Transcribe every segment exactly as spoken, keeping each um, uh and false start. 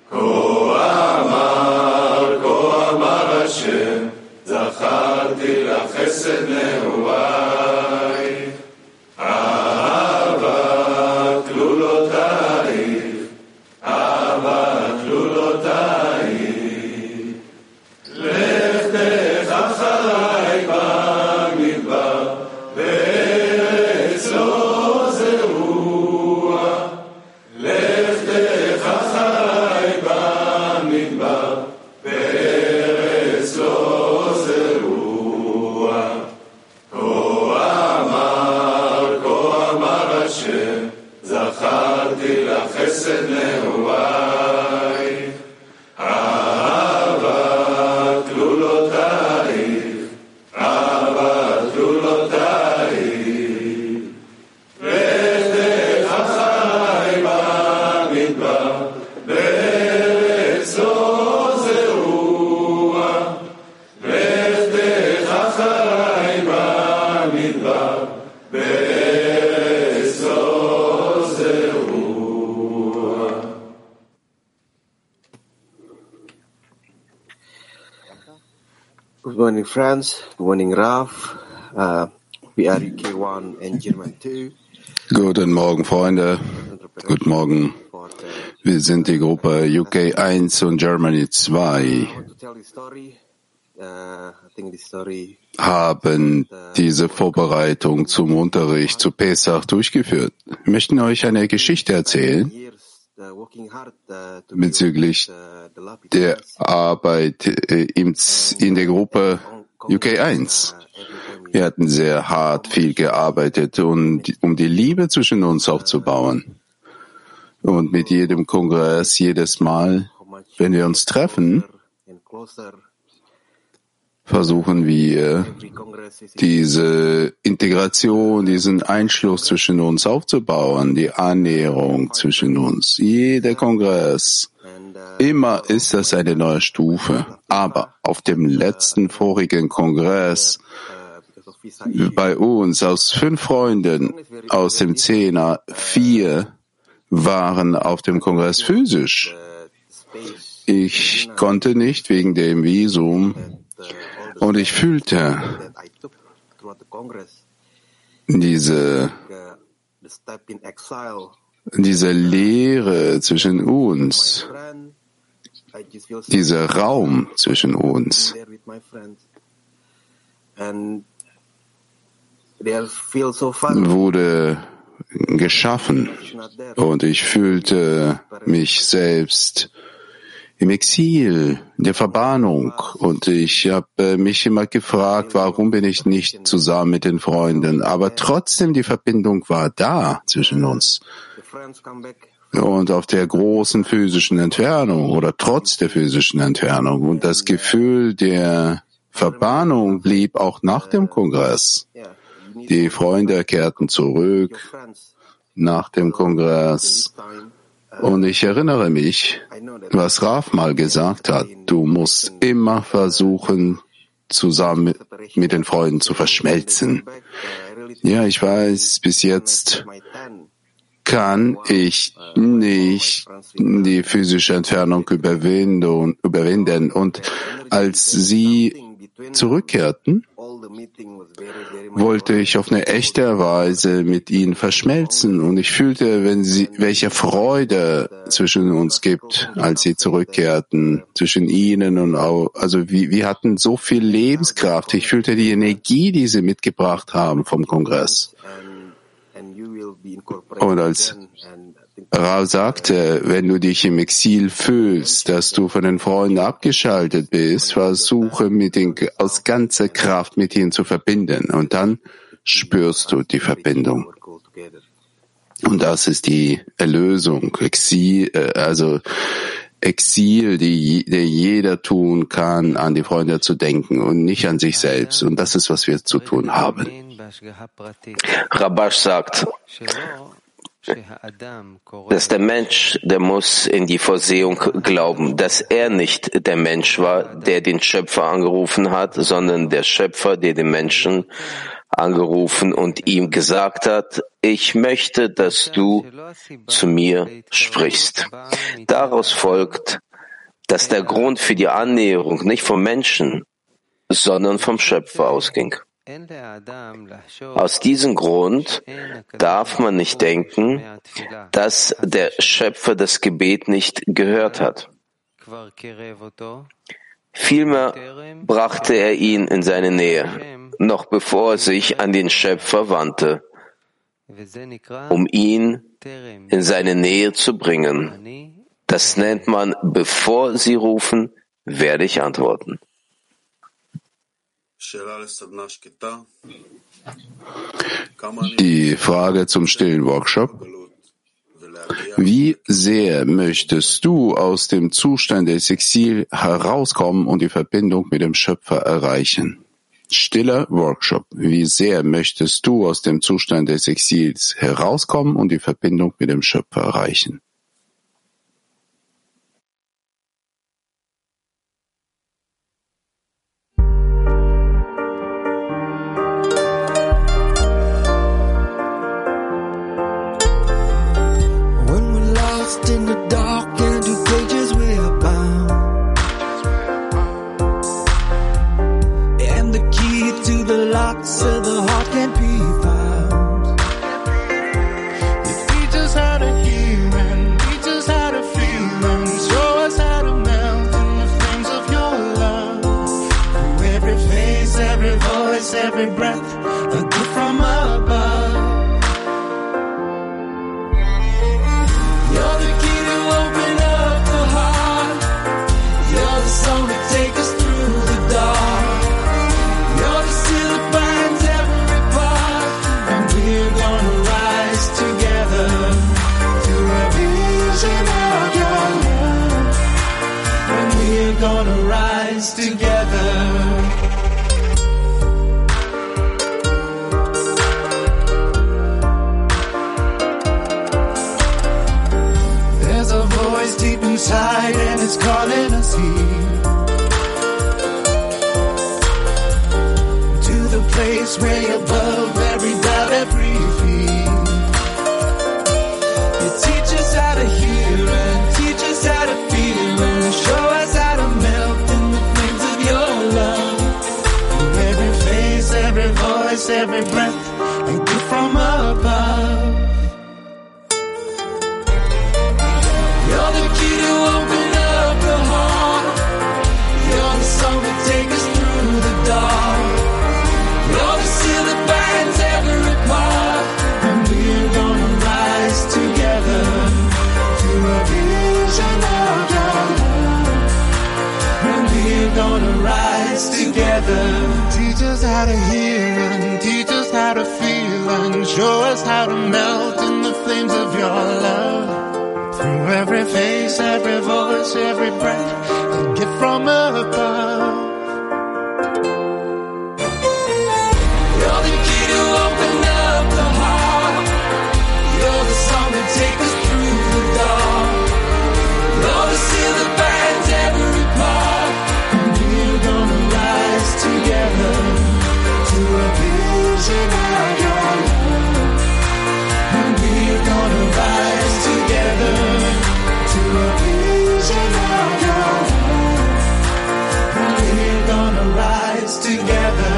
Good morning, friends. Good morning, Raf. Uh, we are U K one and German two. Guten Morgen, Freunde. Guten Morgen. Wir sind die Gruppe U K eins und Germany zwei. Haben diese Vorbereitung zum Unterricht zu Pesach durchgeführt. Wir möchten euch eine Geschichte erzählen bezüglich der Arbeit in der Gruppe U K eins. Wir hatten sehr hart viel gearbeitet, um die Liebe zwischen uns aufzubauen. Und mit jedem Kongress, jedes Mal, wenn wir uns treffen, versuchen wir, diese Integration, diesen Einschluss zwischen uns aufzubauen, die Annäherung zwischen uns. Jeder Kongress, immer ist das eine neue Stufe. Aber auf dem letzten vorigen Kongress bei uns aus fünf Freunden aus dem Zehner, vier waren auf dem Kongress physisch. Ich konnte nicht wegen dem Visum und ich fühlte diese, diese Leere zwischen uns, dieser Raum zwischen uns. Wurde geschaffen und ich fühlte mich selbst im Exil, in der Verbannung, und ich habe mich immer gefragt, warum bin ich nicht zusammen mit den Freunden, aber trotzdem die Verbindung war da zwischen uns. Und auf der großen physischen Entfernung oder trotz der physischen Entfernung und das Gefühl der Verbannung blieb auch nach dem Kongress. Die Freunde kehrten zurück nach dem Kongress. Und ich erinnere mich, was Raf mal gesagt hat, du musst immer versuchen, zusammen mit den Freunden zu verschmelzen. Ja, ich weiß, bis jetzt kann ich nicht die physische Entfernung überwinden, überwinden. Und als sie zurückkehrten, wollte ich auf eine echte Weise mit ihnen verschmelzen. Und ich fühlte, wenn sie, welche Freude zwischen uns gibt, als sie zurückkehrten, zwischen ihnen und auch, also wir, wir hatten so viel Lebenskraft. Ich fühlte die Energie, die sie mitgebracht haben vom Kongress. Und als Rav sagte, wenn du dich im Exil fühlst, dass du von den Freunden abgeschaltet bist, versuche mit den, aus ganzer Kraft mit ihnen zu verbinden. Und dann spürst du die Verbindung. Und das ist die Erlösung, Exil, also Exil, die, die jeder tun kann, an die Freunde zu denken und nicht an sich selbst. Und das ist, was wir zu tun haben. Rabash sagt, dass der Mensch, der muss in die Vorsehung glauben, dass er nicht der Mensch war, der den Schöpfer angerufen hat, sondern der Schöpfer, der den Menschen angerufen und ihm gesagt hat, ich möchte, dass du zu mir sprichst. Daraus folgt, dass der Grund für die Annäherung nicht vom Menschen, sondern vom Schöpfer ausging. Aus diesem Grund darf man nicht denken, dass der Schöpfer das Gebet nicht gehört hat. Vielmehr brachte er ihn in seine Nähe, noch bevor er sich an den Schöpfer wandte, um ihn in seine Nähe zu bringen. Das nennt man, bevor Sie rufen, werde ich antworten. Die Frage zum stillen Workshop. Wie sehr möchtest du aus dem Zustand des Exils herauskommen und die Verbindung mit dem Schöpfer erreichen? Stiller Workshop. Wie sehr möchtest du aus dem Zustand des Exils herauskommen und die Verbindung mit dem Schöpfer erreichen? In the dark and two pages we are bound, and the key to the lock so the heart can't be found. You teach us how to hear and teach us how to feel and show us how to melt in the flames of your love. Through every face, every voice, every breath, a gift from above. Gonna rise together. There's a voice deep inside and it's calling us here to the place way above every doubt, every fear. You teach us how to hear and teach us how to feel and show us how to melt in the flames of your love. Through every face, every voice, every breath, a gift from above. You're the key to open up the heart. You're the song that takes us through the dark. You're the seal that binds every part. And we're gonna rise together to a vision of your love. And we're gonna rise together. Teach us how to hear and teach us how to feel and show us how to melt in the flames of your love. Through every face, every voice, every breath, a gift from above. You're the key to open up the heart. You're the song that takes us through the dark. You're the seal that binds every part. And we're gonna rise together to a vision of your love. And we're gonna rise together to a vision of your love. And we're gonna rise together.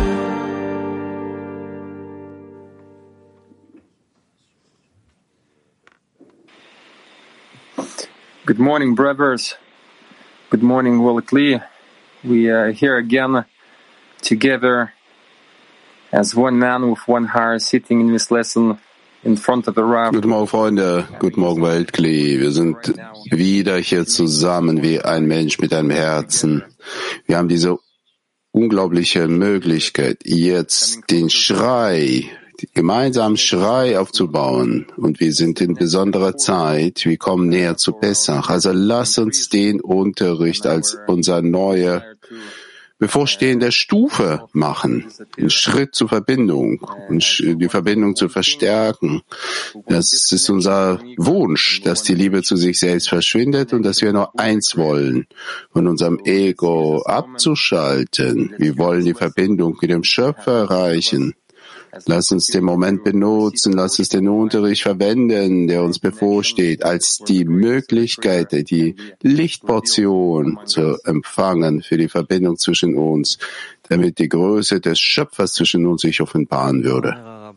Good morning, brothers. Good morning, Wallach Lee. We are here again together as one man with one heart, sitting in this lesson in front of the Rav. Guten Morgen, Freunde. Guten Morgen, Weltklee. Wir sind wieder hier zusammen wie ein Mensch mit einem Herzen. Wir haben diese unglaubliche Möglichkeit, jetzt den Schrei, den gemeinsamen Schrei aufzubauen. Und wir sind in besonderer Zeit. Wir kommen näher zu Pessach. Also lass uns den Unterricht als unser neue bevorstehende Stufe machen, einen Schritt zur Verbindung und die Verbindung zu verstärken. Das ist unser Wunsch, dass die Liebe zu sich selbst verschwindet und dass wir nur eins wollen, von unserem Ego abzuschalten. Wir wollen die Verbindung mit dem Schöpfer erreichen. Lass uns den Moment benutzen, lass uns den Unterricht verwenden, der uns bevorsteht, als die Möglichkeit, die Lichtportion zu empfangen für die Verbindung zwischen uns, damit die Größe des Schöpfers zwischen uns sich offenbaren würde.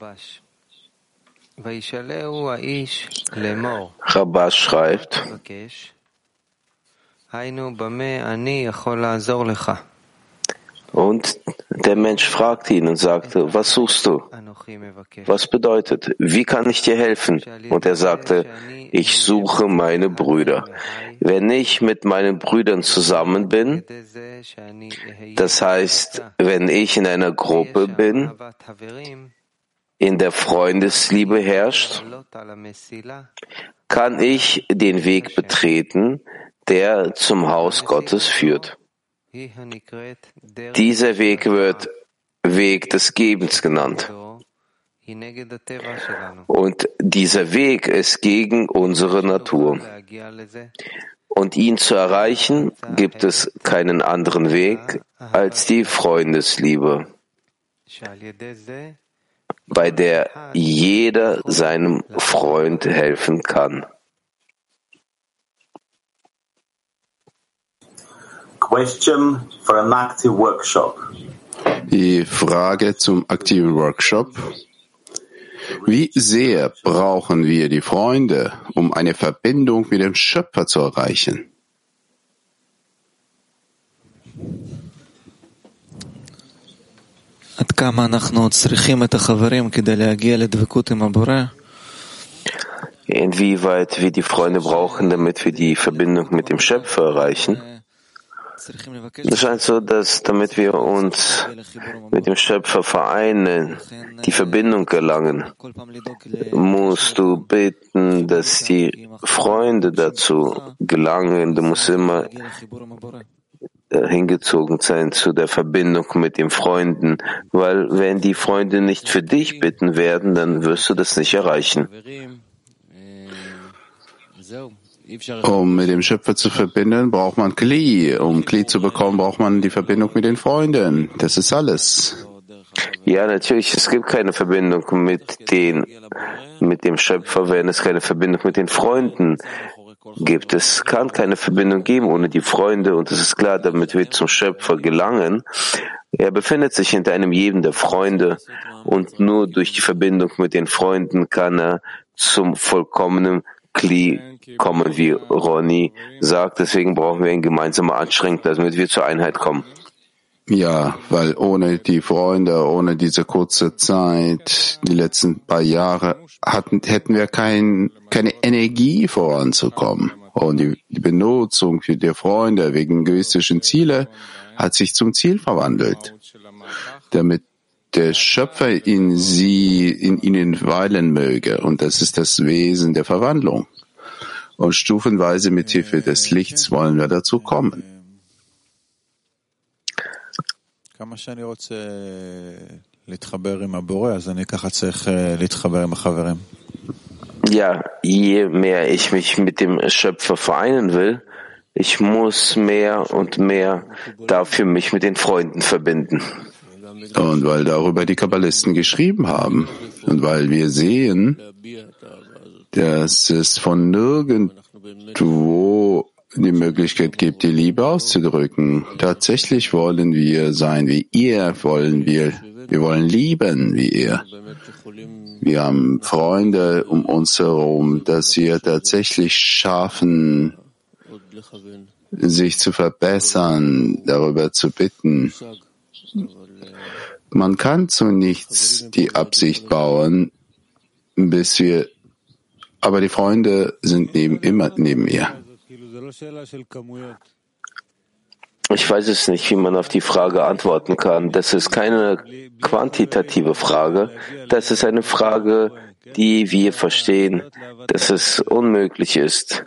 Rabash schreibt, und der Mensch fragte ihn und sagte, was suchst du? Was bedeutet, wie kann ich dir helfen? Und er sagte, ich suche meine Brüder. Wenn ich mit meinen Brüdern zusammen bin, das heißt, wenn ich in einer Gruppe bin, in der Freundesliebe herrscht, kann ich den Weg betreten, der zum Haus Gottes führt. Dieser Weg wird Weg des Gebens genannt. Und dieser Weg ist gegen unsere Natur. Und ihn zu erreichen, gibt es keinen anderen Weg als die Freundesliebe, bei der jeder seinem Freund helfen kann. Question for an active workshop. Die Frage zum aktiven Workshop. Wie sehr brauchen wir die Freunde, um eine Verbindung mit dem Schöpfer zu erreichen? Inwieweit wir die Freunde brauchen, damit wir die Verbindung mit dem Schöpfer erreichen? Es scheint so, dass damit wir uns mit dem Schöpfer vereinen, die Verbindung gelangen, musst du bitten, dass die Freunde dazu gelangen. Du musst immer hingezogen sein zu der Verbindung mit den Freunden, weil wenn die Freunde nicht für dich bitten werden, dann wirst du das nicht erreichen. Um mit dem Schöpfer zu verbinden, braucht man Kli. Um Kli zu bekommen, braucht man die Verbindung mit den Freunden. Das ist alles. Ja, natürlich, es gibt keine Verbindung mit den, mit dem Schöpfer, wenn es keine Verbindung mit den Freunden gibt. Es kann keine Verbindung geben ohne die Freunde, und es ist klar, damit wir zum Schöpfer gelangen. Er befindet sich hinter einem jeden der Freunde, und nur durch die Verbindung mit den Freunden kann er zum vollkommenen Kli kommen, wie Ronny sagt. Deswegen brauchen wir eine gemeinsame Anstrengung, damit wir zur Einheit kommen. Ja, weil ohne die Freunde, ohne diese kurze Zeit, die letzten paar Jahre, hatten, hätten wir kein, keine Energie voranzukommen. Und die, die Benutzung für die Freunde wegen egoistischen Ziele hat sich zum Ziel verwandelt, damit der Schöpfer in sie, in ihnen weilen möge. Und das ist das Wesen der Verwandlung. Und stufenweise mit Hilfe des Lichts wollen wir dazu kommen. Ja, je mehr ich mich mit dem Schöpfer vereinen will, ich muss mehr und mehr dafür mich mit den Freunden verbinden. Und weil darüber die Kabbalisten geschrieben haben und weil wir sehen, dass es von nirgendwo die Möglichkeit gibt, die Liebe auszudrücken. Tatsächlich wollen wir sein wie ihr, wollen wir, wir wollen lieben wie ihr. Wir haben Freunde um uns herum, dass wir tatsächlich schaffen, sich zu verbessern, darüber zu bitten. Man kann zu nichts die Absicht bauen, bis wir, aber die Freunde sind neben, immer neben ihr. Ich weiß es nicht, wie man auf die Frage antworten kann. Das ist keine quantitative Frage. Das ist eine Frage, die wir verstehen, dass es unmöglich ist,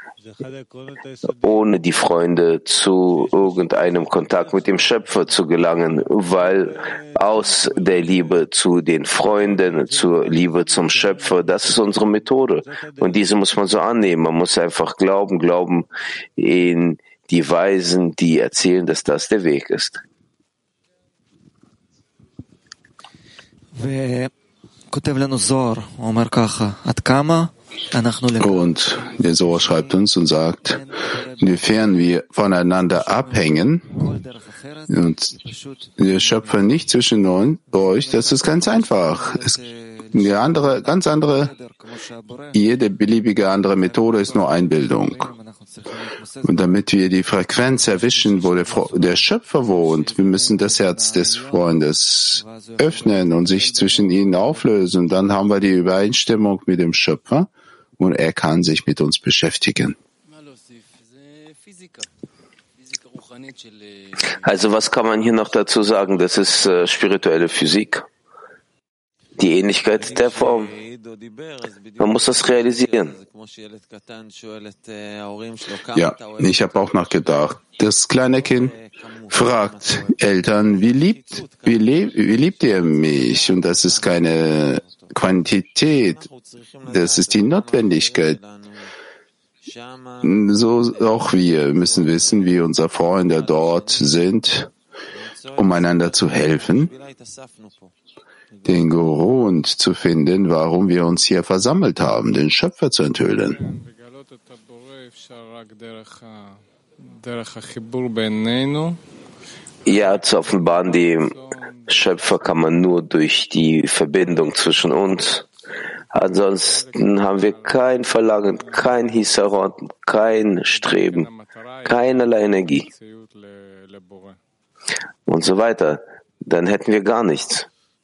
ohne die Freunde zu irgendeinem Kontakt mit dem Schöpfer zu gelangen, weil aus der Liebe zu den Freunden, zur Liebe zum Schöpfer, das ist unsere Methode. Und diese muss man so annehmen. Man muss einfach glauben, glauben in die Weisen, die erzählen, dass das der Weg ist. Und der Zohar schreibt uns und sagt, inwiefern wir voneinander abhängen und der Schöpfer nicht zwischen euch, das ist ganz einfach. Es, eine andere, ganz andere, jede beliebige andere Methode ist nur Einbildung. Und damit wir die Frequenz erwischen, wo der, der Schöpfer wohnt, wir müssen das Herz des Freundes öffnen und sich zwischen ihnen auflösen. Und dann haben wir die Übereinstimmung mit dem Schöpfer und er kann sich mit uns beschäftigen. Also was kann man hier noch dazu sagen? Das ist äh, spirituelle Physik. Die Ähnlichkeit der Form. Man muss das realisieren. Ja, ich habe auch nachgedacht. Das kleine Kind fragt Eltern, wie liebt, wie, lieb, wie liebt ihr mich? Und das ist keine Quantität, das ist die Notwendigkeit. So auch wir müssen wissen, wie unsere Freunde dort sind, um einander zu helfen, den Grund zu finden, warum wir uns hier versammelt haben, den Schöpfer zu enthüllen. Ja, zu offenbaren, die Schöpfer kann man nur durch die Verbindung zwischen uns. Ansonsten haben wir kein Verlangen, kein Hisaron, kein Streben, keinerlei Energie und so weiter. Dann hätten wir gar nichts.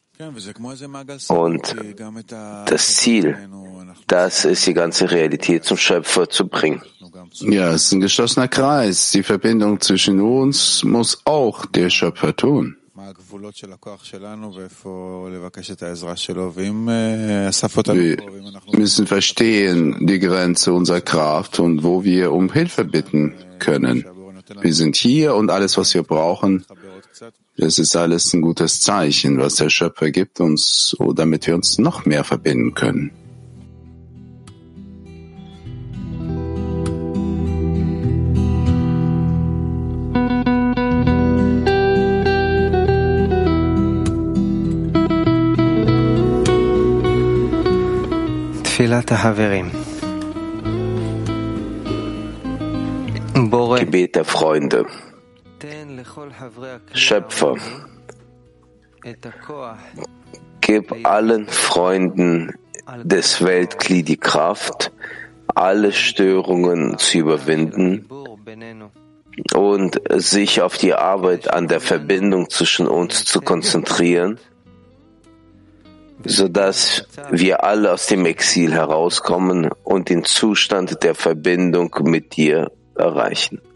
Und das Ziel, das ist die ganze Realität zum Schöpfer zu bringen. Ja, es ist ein geschlossener Kreis. Die Verbindung zwischen uns muss auch der Schöpfer tun. Wir müssen verstehen die Grenze unserer Kraft und wo wir um Hilfe bitten können. Wir sind hier und alles, was wir brauchen, das ist alles ein gutes Zeichen, was der Schöpfer gibt uns, damit wir uns noch mehr verbinden können. Gebet der Freunde. Schöpfer, gib allen Freunden des Weltkli die Kraft, alle Störungen zu überwinden und sich auf die Arbeit an der Verbindung zwischen uns zu konzentrieren, sodass wir alle aus dem Exil herauskommen und den Zustand der Verbindung mit dir erreichen.